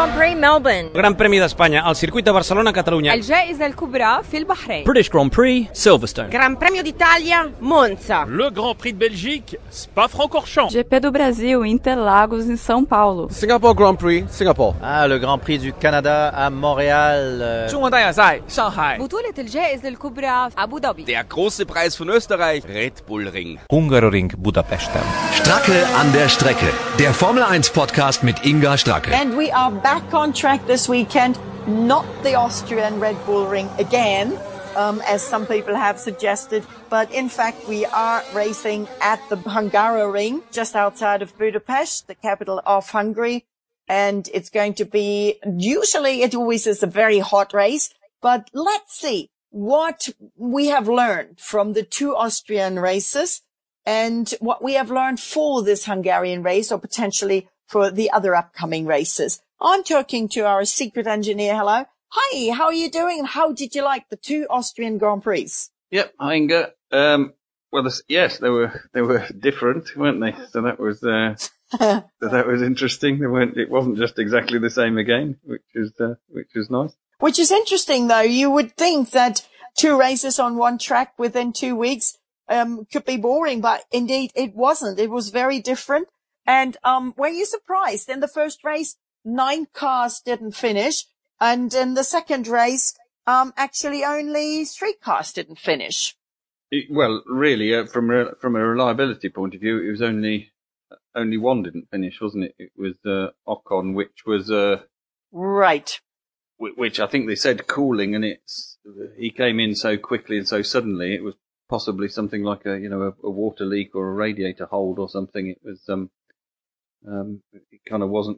Grand Prix Melbourne. Gran Premi d'Espanya, al circuit de Barcelona, Catalunya. الجائزة الكبرى في البحرين. British Grand Prix, Silverstone. Gran Premio d'Italia, Monza. Le Grand Prix de Belgique, Spa-Francorchamps. GP do Brasil, Interlagos, em São Paulo. Singapore Grand Prix, Singapore. Le Grand Prix du Canada à Montréal. 中国大奖赛上海 بطولة الجائزة الكبرى في أبو ظبي. Der große Preis von Österreich, Red Bull Ring. Hungaroring Budapesten. Stracke an der Strecke. Der Formel 1 Podcast mit Inga Stracke. And we are back on track this weekend. Not the Austrian Red Bull Ring again, as some people have suggested. But in fact, we are racing at the Hungaroring, just outside of Budapest, the capital of Hungary. And it's going to be, usually it always is a very hot race. But let's see what we have learned from the two Austrian races and what we have learned for this Hungarian race or potentially for the other upcoming races. I'm talking to our secret engineer. Hello. Hi, how are you doing? And how did you like the two Austrian Grand Prix? Yep, hi Inga. Yes, they were different, weren't they? So that was, that was interesting. It wasn't just exactly the same again, which is nice. Which is interesting though. You would think that two races on one track within 2 weeks, could be boring, but indeed it wasn't. It was very different. And, were you surprised? In the first race, 9 cars didn't finish. And in the second race, actually only 3 cars didn't finish. Really, from a reliability point of view, it was only one didn't finish, wasn't it? It was, Ocon, which was, right. Which I think they said cooling, and he came in so quickly and so suddenly, it was possibly something like a water leak or a radiator hold or something. It was, it kind of wasn't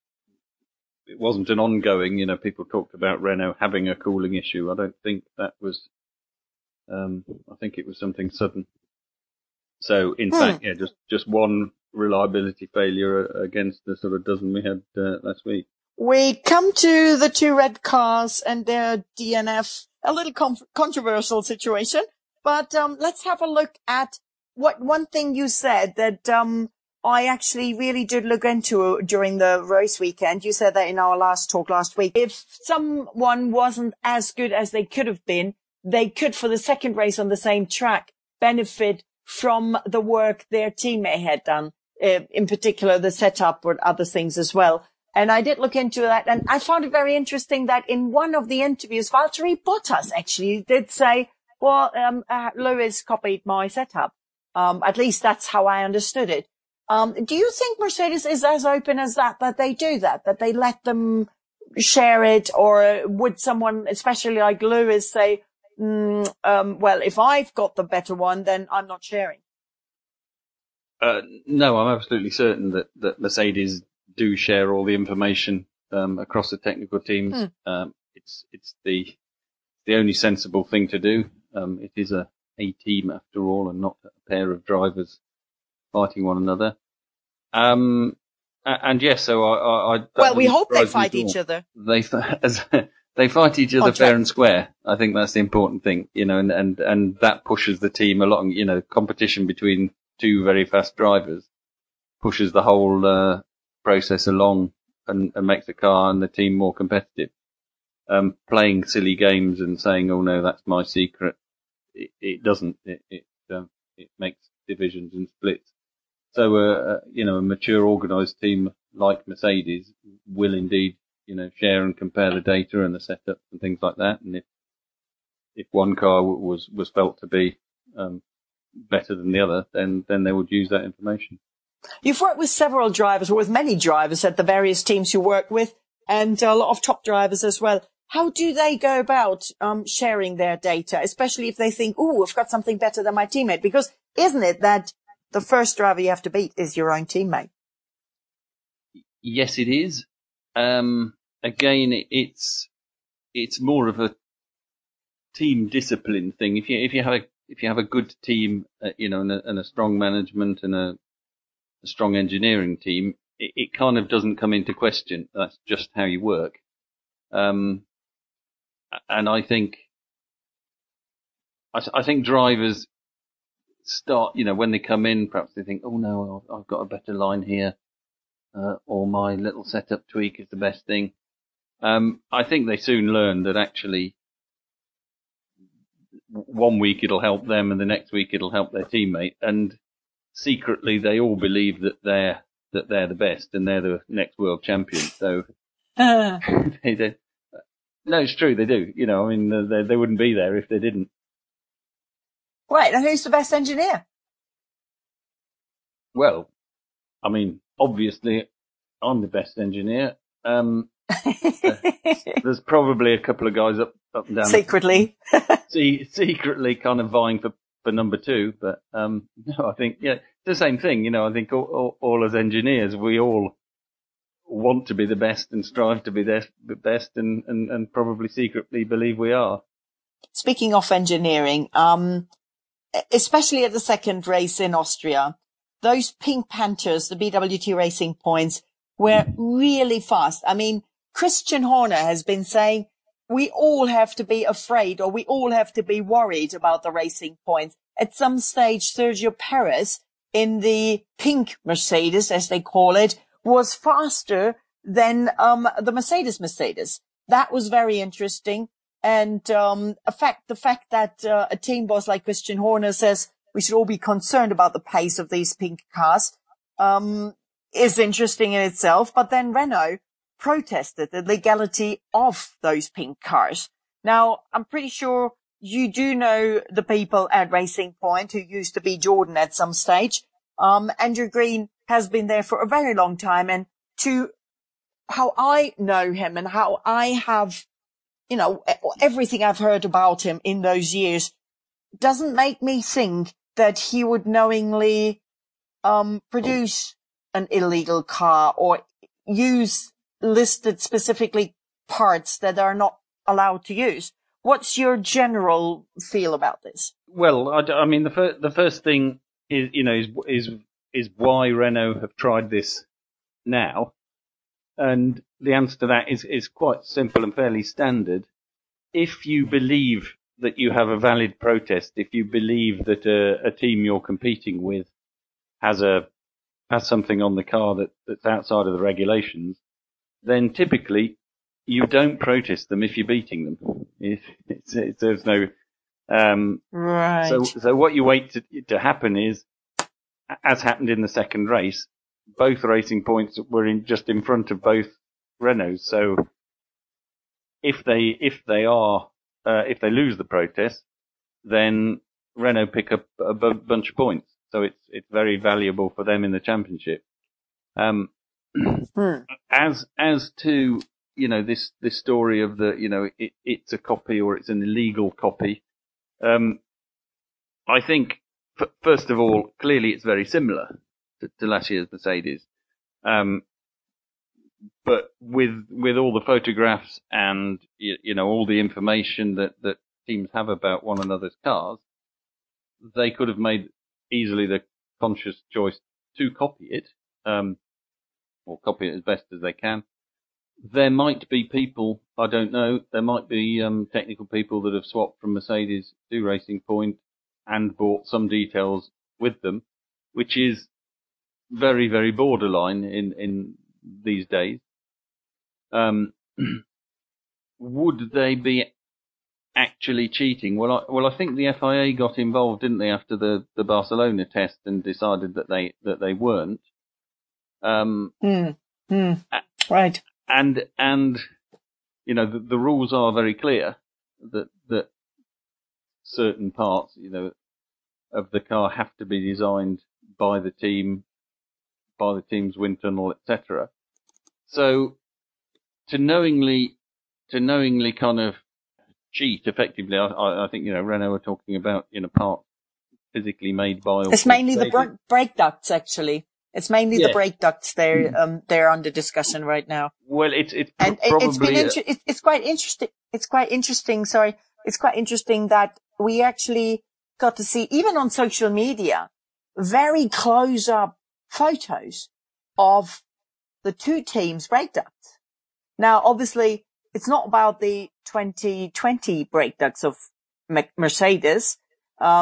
an ongoing, people talked about Renault having a cooling issue. I don't think that was, I think it was something sudden. So in fact, just one reliability failure against the sort of dozen we had last week. We come to the two red cars and their DNF, a little controversial situation, but let's have a look at one thing you said that I actually really did look into during the race weekend. You said that in our last talk last week. If someone wasn't as good as they could have been, they could, for the second race on the same track, benefit from the work their teammate had done, in particular the setup or other things as well. And I did look into that, and I found it very interesting that in one of the interviews, Valtteri Bottas actually did say, well, Lewis copied my setup. At least that's how I understood it. Do you think Mercedes is as open as that they do that they let them share it, or would someone, especially like Lewis, say, well, if I've got the better one, then I'm not sharing? No, I'm absolutely certain that Mercedes do share all the information, across the technical teams. It's the only sensible thing to do. It is a team after all and not a pair of drivers fighting one another. And yes, so I well, we hope they fight each other. They fight each other fair and square. I think that's the important thing, and that pushes the team along. Competition between two very fast drivers pushes the whole process along and makes the car and the team more competitive. Playing silly games and saying, "Oh no, that's my secret," it doesn't. It makes divisions and splits. So, a mature, organised team like Mercedes will indeed, share and compare the data and the setups and things like that. And if one car was felt to be better than the other, then they would use that information. You've worked with several drivers, or with many drivers at the various teams you work with, and a lot of top drivers as well. How do they go about sharing their data, especially if they think, "Oh, I've got something better than my teammate"? Because isn't it that the first driver you have to beat is your own teammate? Yes, it is. Again, it's more of a team discipline thing. If you have a good team, and a strong management and a strong engineering team, it kind of doesn't come into question. That's just how you work. And I think drivers start, when they come in, perhaps they think, "Oh no, I've got a better line here. or my little setup tweak is the best thing. I think they soon learned that actually 1 week it'll help them and the next week it'll help their teammate, and secretly they all believe that they're the best and they're the next world champion. So they do. No, it's true, they do. You know, I mean, they wouldn't be there if they didn't. Right, and who's the best engineer? Well, I mean, obviously, I'm the best engineer. There's probably a couple of guys up and down. Secretly. Secretly kind of vying for number 2, but no, I think, yeah, it's the same thing. You know, I think all as engineers, we all want to be the best and strive to be the best and probably secretly believe we are. Speaking of engineering, especially at the second race in Austria, those Pink Panthers, the BWT Racing Points, were really fast. I mean, Christian Horner has been saying we all have to be afraid or we all have to be worried about the Racing Points. At some stage, Sergio Perez in the pink Mercedes, as they call it, was faster than the Mercedes. That was very interesting. And the fact that a team boss like Christian Horner says we should all be concerned about the pace of these pink cars is interesting in itself. But then Renault protested the legality of those pink cars. Now, I'm pretty sure you do know the people at Racing Point who used to be Jordan at some stage. Andrew Green has been there for a very long time, and to how I know him and how I have, you know, everything I've heard about him in those years doesn't make me think that he would knowingly produce an illegal car or use listed specifically parts that are not allowed to use. What's your general feel about this? Well, I mean, the first thing is, you know, is why Renault have tried this now, and the answer to that is quite simple and fairly standard. If you believe that you have a valid protest, if you believe that a team you're competing with has something on the car that's outside of the regulations, then typically you don't protest them if you're beating them. There's no right. So what you wait to happen is, as happened in the second race, both Racing Points were just in front of both Renaults. So if they lose the protest, then Renault pick up a bunch of points. So it's very valuable for them in the championship. As to, you know, this story of the, you know, it's a copy or it's an illegal copy. I think, first of all, clearly it's very similar to last year's Mercedes. But with all the photographs and, you know, all the information that teams have about one another's cars, they could have made easily the conscious choice to copy it, or copy it as best as they can. There might be people, I don't know, there might be technical people that have swapped from Mercedes to Racing Point and brought some details with them, which is very, very borderline in these days. Would they be actually cheating? Well, I think the FIA got involved, didn't they, after the Barcelona test and decided that they weren't. Right. And you know, the rules are very clear that certain parts, you know, of the car have to be designed by the team, by the team's wind tunnel, etc. So to knowingly kind of cheat effectively, I think, you know, Renault are talking about, you know, parts physically made by. It's mainly the brake ducts, actually. It's mainly the brake ducts they're under discussion right now. Well, it's quite interesting. It's quite interesting. Sorry, it's quite interesting that we actually got to see, even on social media, very close up photos of the two teams' brake ducts. Now, obviously, it's not about the 2020 brake ducts of Mercedes.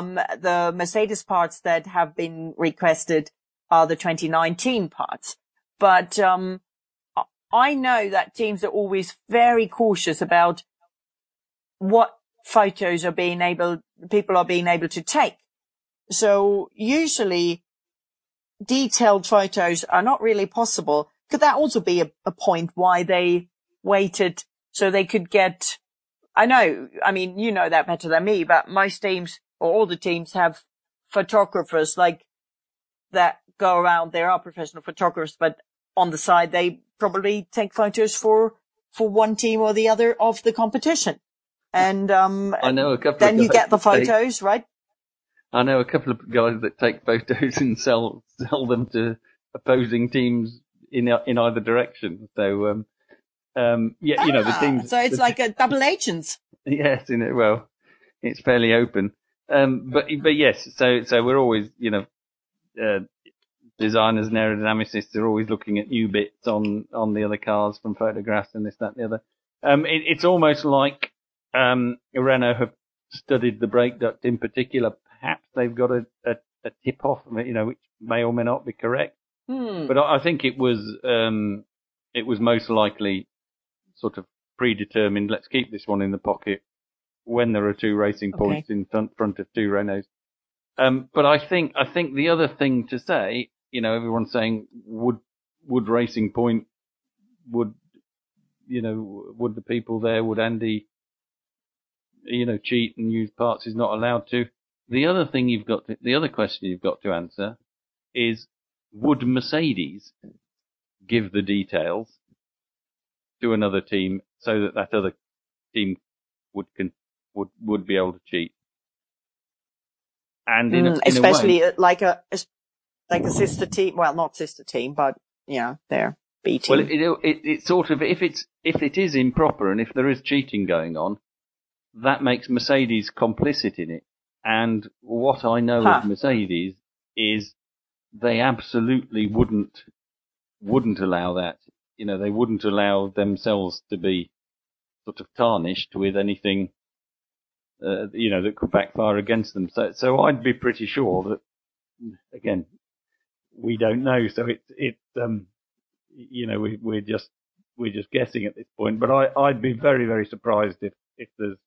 The Mercedes parts that have been requested are the 2019 parts. But, I know that teams are always very cautious about what photos people are being able to take. So usually detailed photos are not really possible. Could that also be a point why they waited so they could get, I mean, you know that better than me, but most teams or all the teams have photographers like that go around. There are professional photographers, but on the side, they probably take photos for one team or the other of the competition. And, I know a couple then of you get the photos, right? I know a couple of guys that take photos and sell them to opposing teams in either direction. So, the teams. So it's like a double agents. Yes, well, it's fairly open. But yes, so we're always, designers and aerodynamicists are always looking at new bits on the other cars from photographs and this, that, and the other. It's almost like, Renault have studied the brake duct in particular. Perhaps they've got a tip off, which may or may not be correct. But I think it was most likely sort of predetermined. Let's keep this one in the pocket when there are two racing points in front of two Renaults. But I think the other thing to say, everyone's saying, would Racing Point, would the people there, would Andy, cheat and use parts he's not allowed to? The other question you've got to answer is, would Mercedes give the details to another team so that other team would be able to cheat? And especially in a way, like a sister team. Well, not sister team, but they're B team. Well, it sort of, if it is improper and if there is cheating going on, that makes Mercedes complicit in it. And what I know of Mercedes is they absolutely wouldn't allow that. They wouldn't allow themselves to be sort of tarnished with anything, that could backfire against them. So I'd be pretty sure that, again, we don't know. So we're just guessing at this point. But I'd be very, very surprised if there's,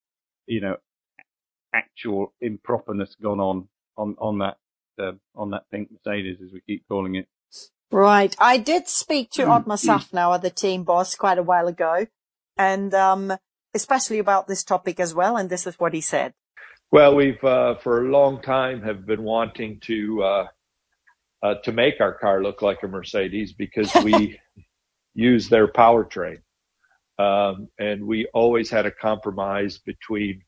actual improperness gone on that pink Mercedes, as we keep calling it. Right. I did speak to Ottmar Safnauer, the team boss, quite a while ago, and especially about this topic as well. And this is what he said. Well, we've for a long time have been wanting to make our car look like a Mercedes because we use their powertrain, and we always had a compromise between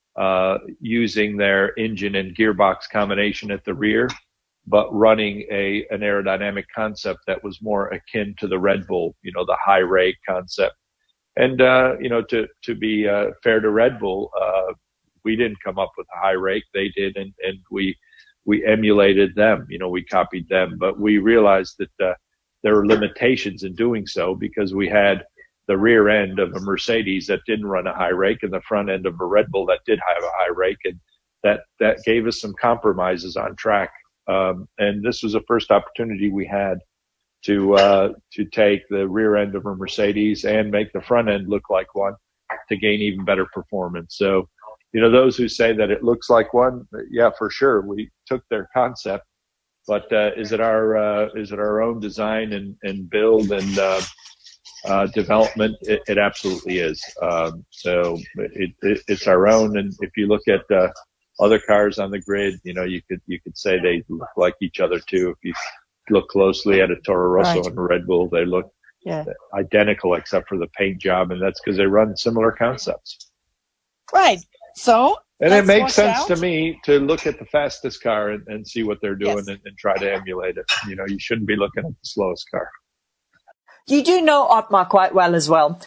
using their engine and gearbox combination at the rear, but running an aerodynamic concept that was more akin to the Red Bull, the high rake concept. And, to be fair to Red Bull, we didn't come up with a high rake. They did. And we emulated them, we copied them, but we realized that, there were limitations in doing so because we had the rear end of a Mercedes that didn't run a high rake and the front end of a Red Bull that did have a high rake. And that gave us some compromises on track. And this was the first opportunity we had to take the rear end of a Mercedes and make the front end look like one to gain even better performance. So, those who say that it looks like one, yeah, for sure. We took their concept, but, is it our own design and build and, development? It absolutely is. So it's our own. And if you look at, other cars on the grid, you could say they look like each other too. If you look closely at a Toro Rosso and a Red Bull, they look identical except for the paint job. And that's because they run similar concepts. Right. So. And it makes sense to me to look at the fastest car and see what they're doing and try to emulate it. You shouldn't be looking at the slowest car. You do know Ottmar quite well as well.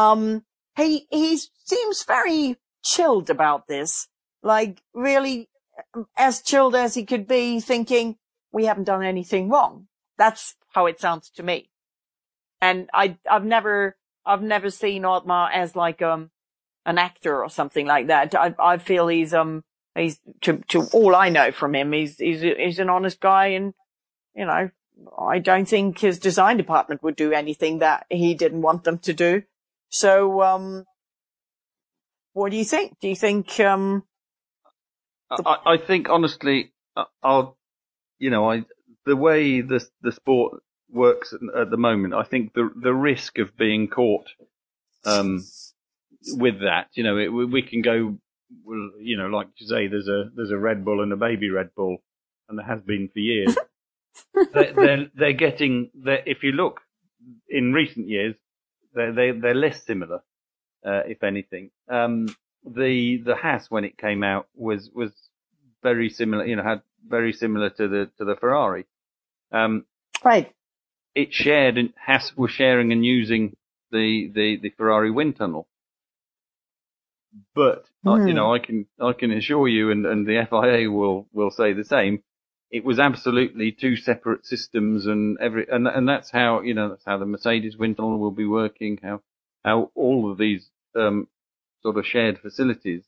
He seems very chilled about this. Like really as chilled as he could be, thinking we haven't done anything wrong. That's how it sounds to me. And I've never seen Ottmar as like an actor or something like that. I feel he's to all I know from him, he's an honest guy, and I don't think his design department would do anything that he didn't want them to do. So, what do you think? Do you think, I think honestly, the way the sport works at the moment, I think the risk of being caught, with that, we can go, like you say, there's a Red Bull and a baby Red Bull, and there has been for years. they're getting, if you look in recent years, they're less similar, if anything. The Haas, when it came out, was very similar, had very similar to the Ferrari. Right. It shared, and Haas was sharing and using the Ferrari wind tunnel. But, I can assure you, and the FIA will say the same, it was absolutely two separate systems, and that's how, that's how the Mercedes wind tunnel will be working, how all of these, sort of shared facilities.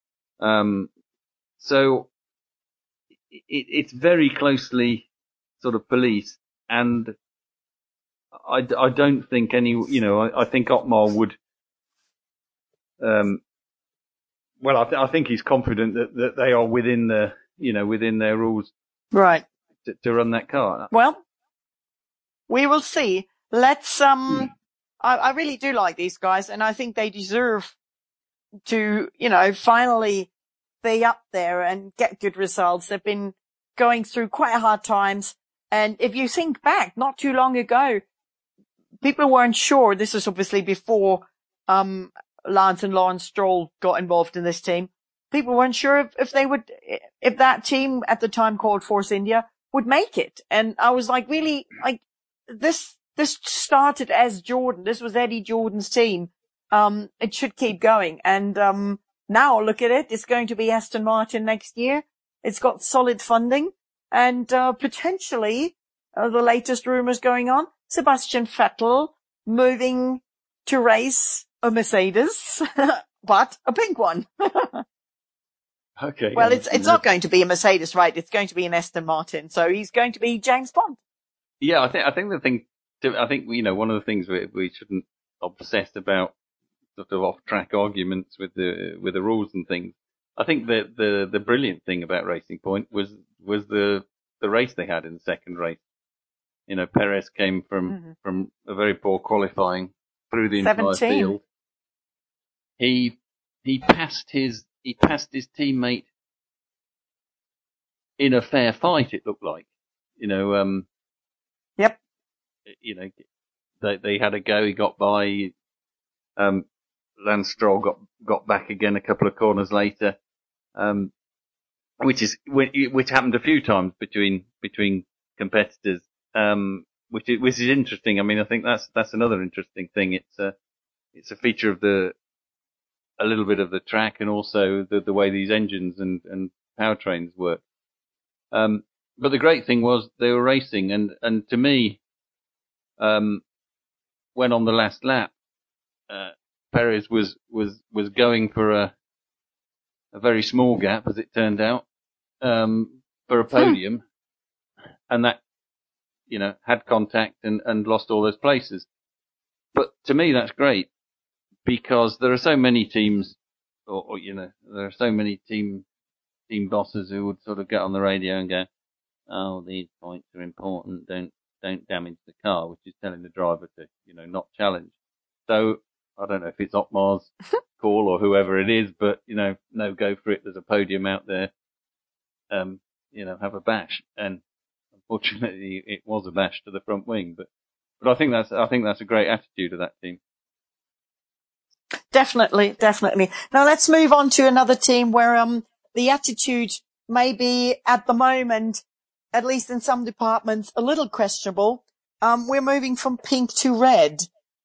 So it's very closely sort of policed, and I don't think I think Otmar would, I think he's confident that they are within within their rules. Right. To run that car. Well, we will see. Let's, I really do like these guys, and I think they deserve to, finally be up there and get good results. They've been going through quite hard times. And if you think back, not too long ago, people weren't sure. This was obviously before, Lance and Lawrence Stroll got involved in this team. People weren't sure if that team at the time called Force India would make it. And I was like, really, this started as Jordan. This was Eddie Jordan's team. It should keep going. And, now look at it. It's going to be Aston Martin next year. It's got solid funding, and, potentially, the latest rumors going on, Sebastian Vettel moving to race a Mercedes, but a pink one. Okay. Well, it's not going to be a Mercedes, right? It's going to be an Aston Martin. So he's going to be James Bond. Yeah, I think one of the things we shouldn't obsess about sort of off-track arguments with the rules and things. I think that the brilliant thing about Racing Point was the race they had in the second race. Perez came from a very poor qualifying through the entire field. He passed his teammate in a fair fight, it looked like. Yep. They had a go, he got by, Lance Stroll got back again a couple of corners later, which happened a few times between competitors, which is interesting. I mean, I think that's another interesting thing. It's a feature of a little bit of the track, and also the way these engines and powertrains work. But the great thing was they were racing, and to me, when on the last lap, Perez was going for a very small gap, as it turned out, for a podium, and that, had contact and lost all those places. But to me, that's great, because there are so many teams, or there are so many team bosses who would sort of get on the radio and go, "Oh, these points are important. Don't damage the car," which is telling the driver to, not challenge. So I don't know if it's Otmar's call or whoever it is, but no, go for it. There's a podium out there. Have a bash. And unfortunately, it was a bash to the front wing. But I think that's a great attitude of that team. Definitely. Now let's move on to another team where the attitude may be at the moment, at least in some departments, a little questionable. We're moving from pink to red.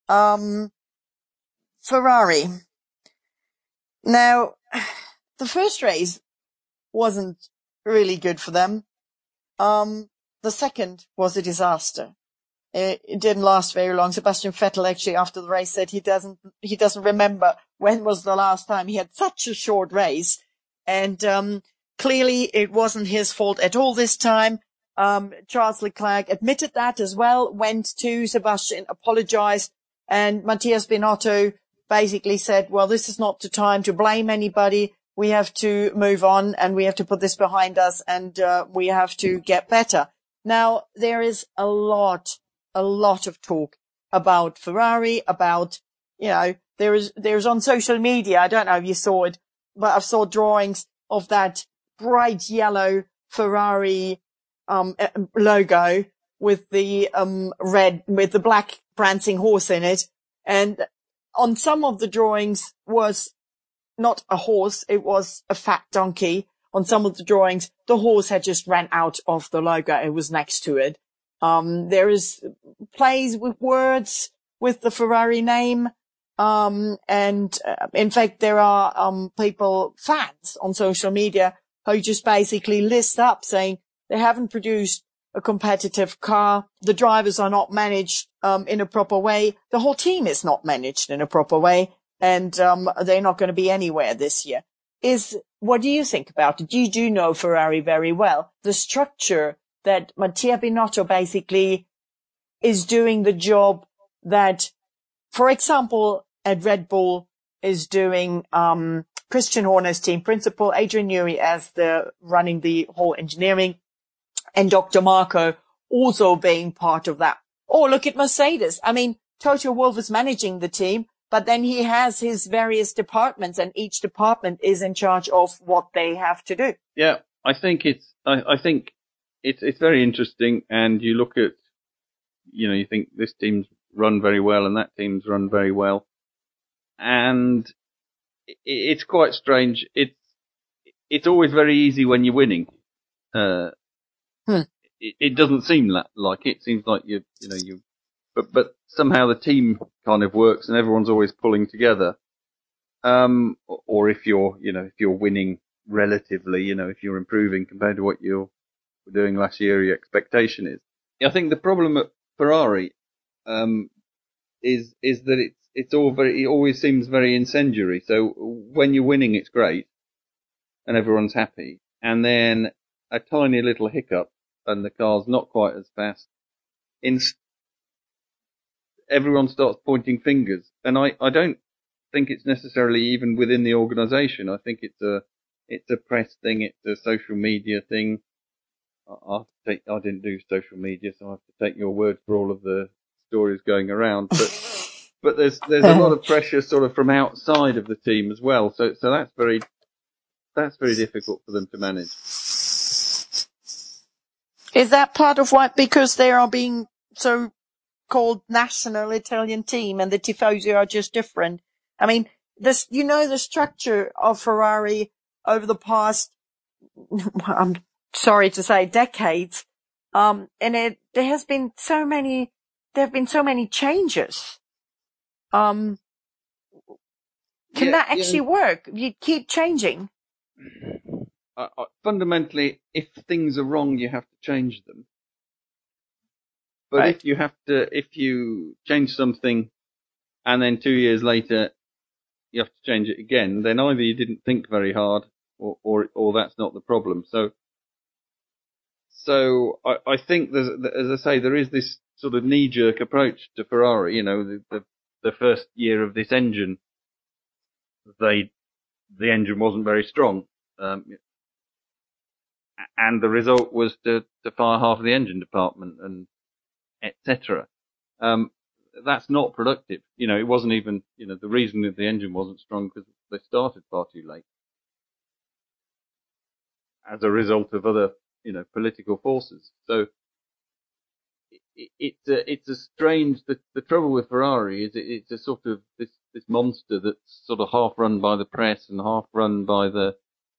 Ferrari. Now, the first race wasn't really good for them. The second was a disaster. It didn't last very long. Sebastian Vettel actually after the race said he doesn't remember when was the last time he had such a short race. And, clearly it wasn't his fault at all this time. Charles Leclerc admitted that as well, went to Sebastian, apologized, and Matthias Binotto basically said, well, this is not the time to blame anybody. We have to move on and we have to put this behind us and we have to get better. Now, there is a lot of talk about Ferrari, about, there's on social media, I don't know if you saw it, but I saw drawings of that bright yellow Ferrari logo with the red, with the black prancing horse in it. And on some of the drawings was not a horse, it was a fat donkey. On some of the drawings, the horse had just ran out of the logo. It was next to it. There is plays with words with the Ferrari name. In fact, there are, fans on social media who just basically list up saying they haven't produced a competitive car. The drivers are not managed, in a proper way. The whole team is not managed in a proper way. And, they're not going to be anywhere this year. What do you think about it? You do know Ferrari very well. The structure that Mattia Binotto basically is doing the job that, for example, at Red Bull is doing, Christian Horner's team principal, Adrian Newey as running the whole engineering, and Dr. Marco also being part of that. Oh, look at Mercedes. I mean, Toto Wolff is managing the team, but then he has his various departments and each department is in charge of what they have to do. Yeah, I think it's very interesting. And you look at, you think this team's run very well and that team's run very well. And it's quite strange. It's always very easy when you're winning. It doesn't seem like it. It seems like but somehow the team kind of works and everyone's always pulling together. Or if you're winning relatively, if you're improving compared to what you were doing last year, your expectation is. I think the problem at Ferrari, is that it always seems very incendiary. So when you're winning, it's great and everyone's happy. And then a tiny little hiccup and the car's not quite as fast. Everyone starts pointing fingers. And I don't think it's necessarily even within the organization. I think it's a press thing. It's a social media thing. I didn't do social media, so I have to take your word for all of the stories going around. But there's a lot of pressure sort of from outside of the team as well. So that's very difficult for them to manage. Is that part of why, because they are being so-called national Italian team and the Tifosi are just different? I mean, the structure of Ferrari over the past, I'm sorry to say, decades, and there have been so many changes. Can that actually work? You keep changing. Fundamentally, if things are wrong, you have to change them. But right. if you change something and then 2 years later you have to change it again, then either you didn't think very hard or that's not the problem. So I think there's, as I say, there is this sort of knee-jerk approach to Ferrari. The first year of this engine, the engine wasn't very strong. And the result was to fire half of the engine department and etc. That's not productive. It wasn't even, the reason that the engine wasn't strong because they started far too late as a result of other, political forces. So it's a strange, the trouble with Ferrari is it's a sort of this monster that's sort of half run by the press and half run by the,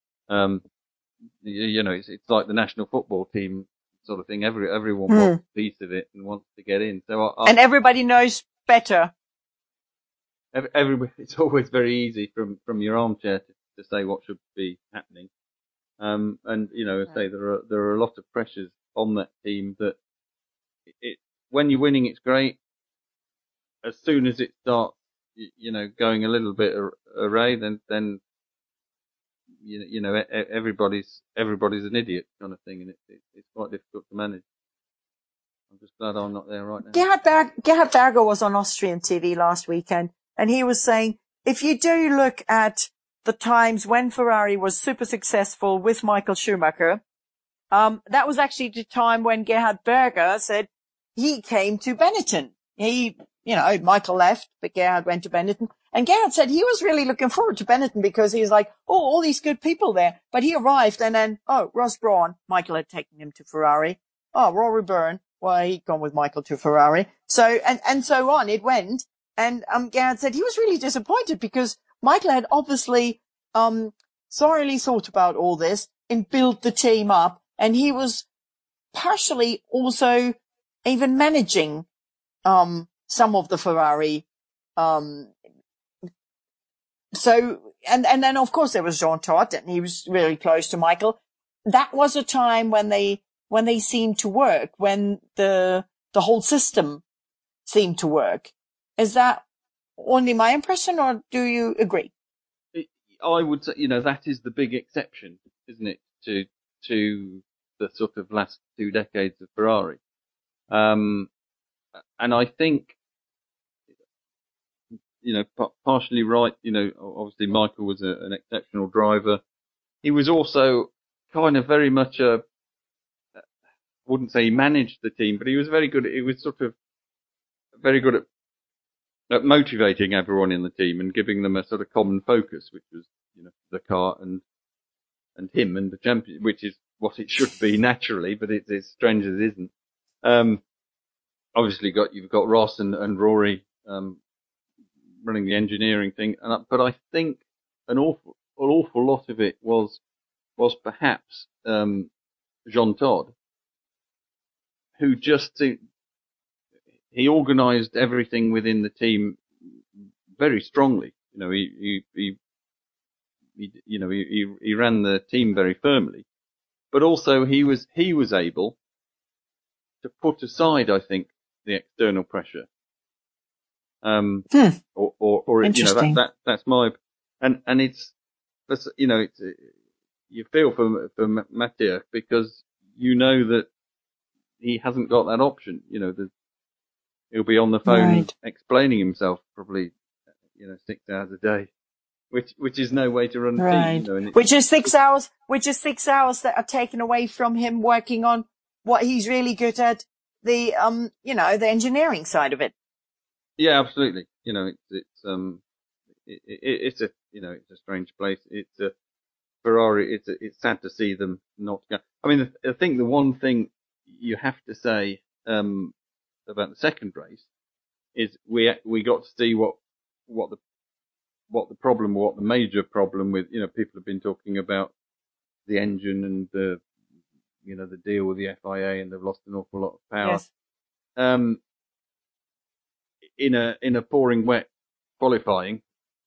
it's like the national football team sort of thing. Everyone wants a piece of it and wants to get in. So and everybody knows better. Everybody, it's always very easy from your armchair to say what should be happening. And I say there are a lot of pressures on that team that when you're winning, it's great. As soon as it starts, going a little bit array, then everybody's an idiot kind of thing, and it's quite difficult to manage. I'm just glad I'm not there right now. Gerhard Berger was on Austrian TV last weekend, and he was saying, if you do look at the times when Ferrari was super successful with Michael Schumacher, that was actually the time when Gerhard Berger said he came to Benetton. Michael left, but Gerhard went to Benetton. And Gerhard said he was really looking forward to Benetton because he's like, all these good people there. But he arrived and then, Ross Brawn, Michael had taken him to Ferrari. Rory Byrne, he'd gone with Michael to Ferrari. So, and so on, it went. And, Gerhard said he was really disappointed because Michael had obviously, thoroughly thought about all this and built the team up. And he was partially also even managing, some of the Ferrari, and then of course there was Jean Todt, and he was really close to Michael. That was a time when they seemed to work, when the whole system seemed to work. Is that only my impression, or do you agree? I would say, that is the big exception, isn't it, to the sort of last 2 decades of Ferrari. And I think, partially right, obviously Michael was an exceptional driver. He was also kind of very much I wouldn't say he managed the team, but he was very good. He was sort of very good at motivating everyone in the team and giving them a sort of common focus, which was, the car and him and the champion, which is what it should be naturally, but it's as strange as it isn't. Obviously you've got Ross and Rory, running the engineering thing. But I think an awful lot of it was perhaps, Jean Todt, who he organized everything within the team very strongly. He ran the team very firmly, but also he was able to put aside, I think, the external pressure. Or Interesting. That's my, and it's you feel for Mattia because that he hasn't got that option. He'll be on the phone explaining himself probably, 6 hours a day, which is no way to run a team. Which is 6 hours that are taken away from him working on what he's really good at, the the engineering side of it. Yeah, absolutely. It's a strange place. It's a Ferrari. It's sad to see them not go. I mean, I think the one thing you have to say, about the second race is we got to see what the major problem with, people have been talking about the engine and the deal with the FIA, and they've lost an awful lot of power. Yes. In a pouring wet qualifying,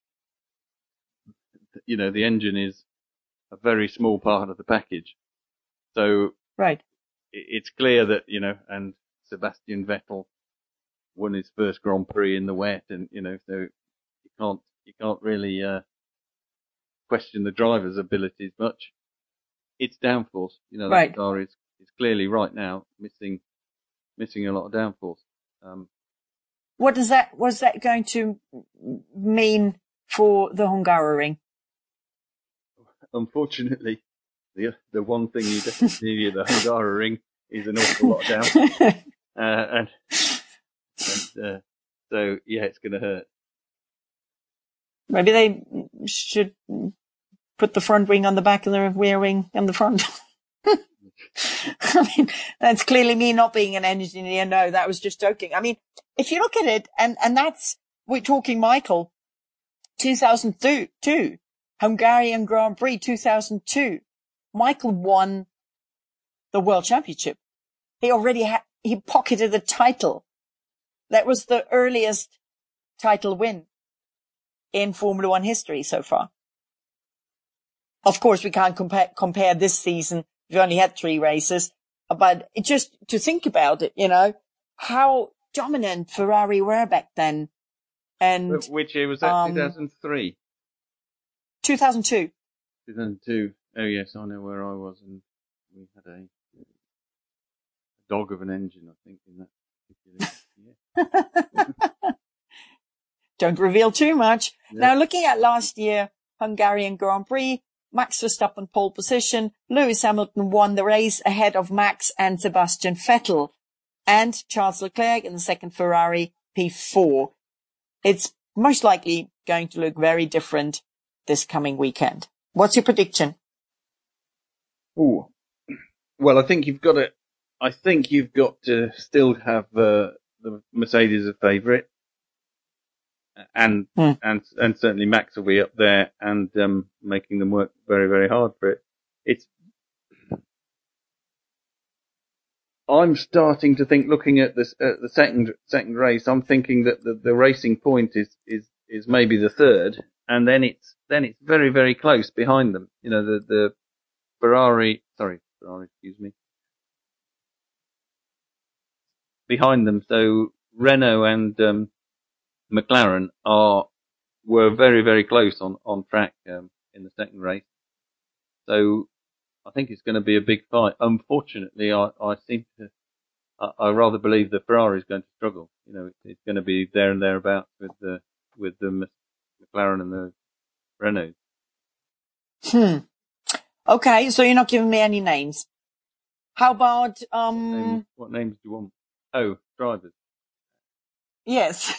the engine is a very small part of the package. So it's clear that, and Sebastian Vettel won his first Grand Prix in the wet, and, so you can't really, question the driver's abilities much. It's downforce, the car is clearly right now missing a lot of downforce. Was that going to mean for the Hungaroring? Unfortunately, the one thing you definitely need at the Hungaroring is an awful lot of downforce. So yeah, it's going to hurt. Maybe they should put the front wing on the back and the rear wing on the front. I mean, that's clearly me not being an engineer. No, that was just joking. I mean, if you look at it, and we're talking Michael, 2002, Hungarian Grand Prix 2002, Michael won the World Championship. He pocketed the title. That was the earliest title win in Formula One history so far. Of course, we can't compare this season. We've only had 3 races, but just to think about it, how dominant Ferrari were back then. And which year was that? 2003. 2002. 2002. Oh yes, I know where I was, and we had a dog of an engine, I think, in that particular year. Don't reveal too much. Yeah. Now, looking at last year, Hungarian Grand Prix, Max Verstappen pole position, Lewis Hamilton won the race ahead of Max and Sebastian Vettel, and Charles Leclerc in the second Ferrari P4. It's most likely going to look very different this coming weekend. What's your prediction? Ooh. Well, I think you've got to still have the Mercedes a favourite, and certainly Max will be up there and making them work very, very hard for it. I'm starting to think, looking at this the second race, I'm thinking that the Racing Point is maybe the third, and then it's very, very close behind them. You know, the Ferrari, excuse me, behind them. So Renault and McLaren were very, very close on track in the second race. So I think it's going to be a big fight. Unfortunately, I rather believe the Ferrari is going to struggle. You know, it's going to be there and thereabouts with the McLaren and the Renault. Okay, so you're not giving me any names. How about What names do you want? Oh, drivers. Yes.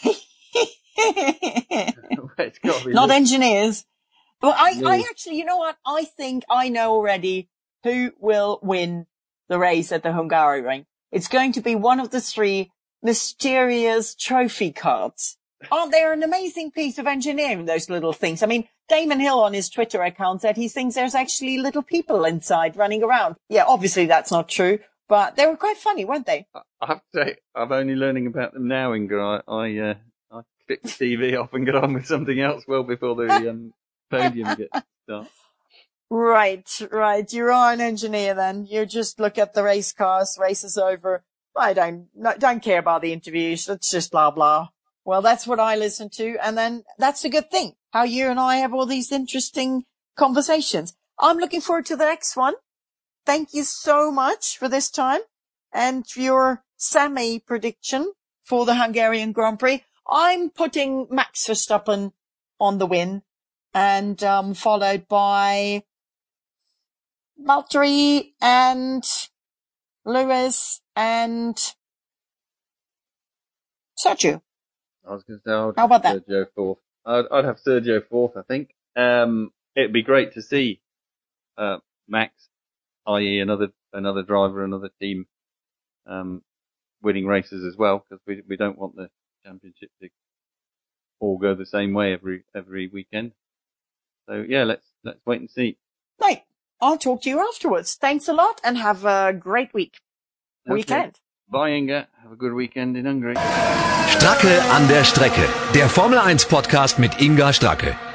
It's got to be Not engineers. Well, I actually, you know what? I think I know already who will win the race at the Hungaroring. It's going to be one of the three mysterious trophy cards. Aren't they an amazing piece of engineering, those little things? I mean, Damon Hill on his Twitter account said he thinks there's actually little people inside running around. Yeah, obviously that's not true, but they were quite funny, weren't they? I have to say, I'm only learning about them now, Inga. I clicked the TV off and got on with something else well before the podium gets started. Right. You are an engineer then. You just look at the race cars, race is over. I don't care about the interviews. It's just blah, blah. Well, that's what I listen to. And then that's a good thing. How you and I have all these interesting conversations. I'm looking forward to the next one. Thank you so much for this time and your semi prediction for the Hungarian Grand Prix. I'm putting Max Verstappen on the win and, followed by Valtteri and Lewis and Sergio. I was going to say, how about that? Sergio fourth. I'd have Sergio fourth, I think. It'd be great to see, Max, i.e. another driver, another team, winning races as well, because we don't want the championship to all go the same way every weekend. So yeah, let's wait and see. Right. I'll talk to you afterwards. Thanks a lot and have a great weekend. Bye, Inga. Have a good weekend in Hungary. Stracke an der Strecke. Der Formel 1 Podcast mit Inga Stracke.